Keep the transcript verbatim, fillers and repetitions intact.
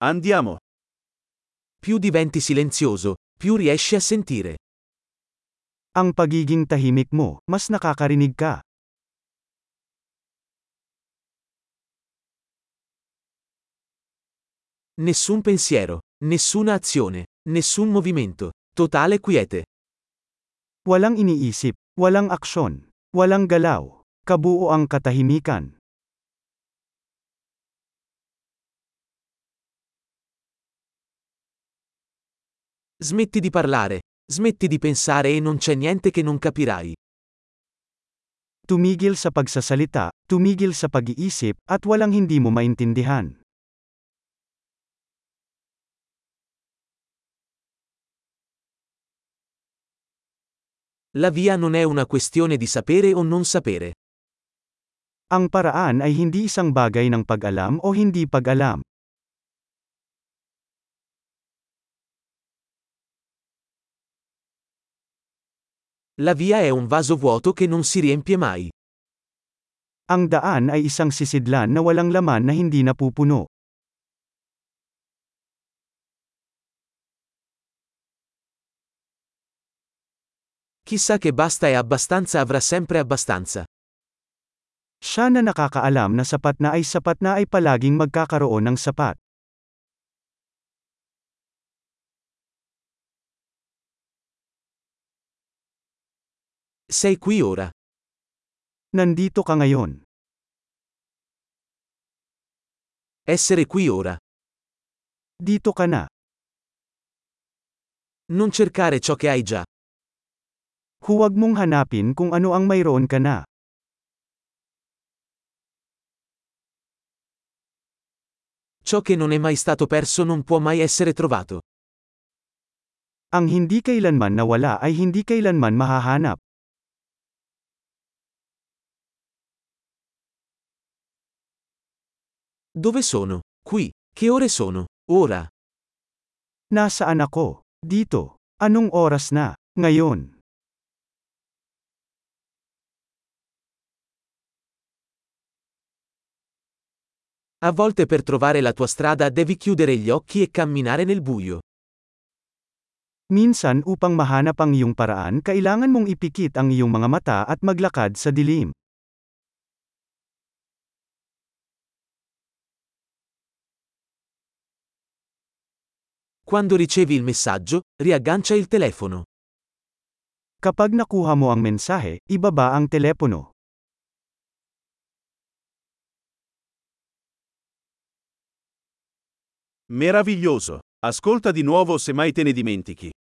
Andiamo. Più diventi silenzioso, più riesci a sentire. Ang pagiging tahimik mo, mas nakakarinig ka. Nessun pensiero, nessuna azione, nessun movimento. Totale quiete. Walang iniisip, walang aksyon, walang galaw. Kabuo ang katahimikan. Smetti di parlare, smetti di pensare e non c'è niente che non capirai. Tumigil sa pagsasalita, tumigil sa pag-iisip, at walang hindi mo maintindihan. La via non è una questione di sapere o non sapere. Ang paraan ay hindi isang bagay ng pag-alam o hindi pag-alam. La via è un vaso vuoto che non si riempie mai. Ang daan ay isang sisidlan na walang laman na hindi napupuno. Chissà che basta e abbastanza avrà sempre abbastanza. Siya na nakakaalam na sapat na ay sapat na ay palaging magkakaroon ng sapat. Sei qui ora. Nandito ka ngayon. Essere qui ora. Dito ka na. Non cercare ciò che hai già. Huwag mong hanapin kung ano ang mayroon ka na. Ciò che non è mai stato perso non può mai essere trovato. Ang hindi kailanman nawala ay hindi kailanman mahahanap. Dove sono? Qui. Che ore sono? Ora. Nasaan ako? Dito. Anong oras na? Ngayon. A volte per trovare la tua strada devi chiudere gli occhi e camminare nel buio. Minsan upang mahanap ang iyong paraan kailangan mong ipikit ang iyong mga mata at maglakad sa dilim. Quando ricevi il messaggio, riaggancia il telefono. Kapag nakuha mo ang mensahe, ibaba ang telepono. Meraviglioso. Ascolta di nuovo se mai te ne dimentichi.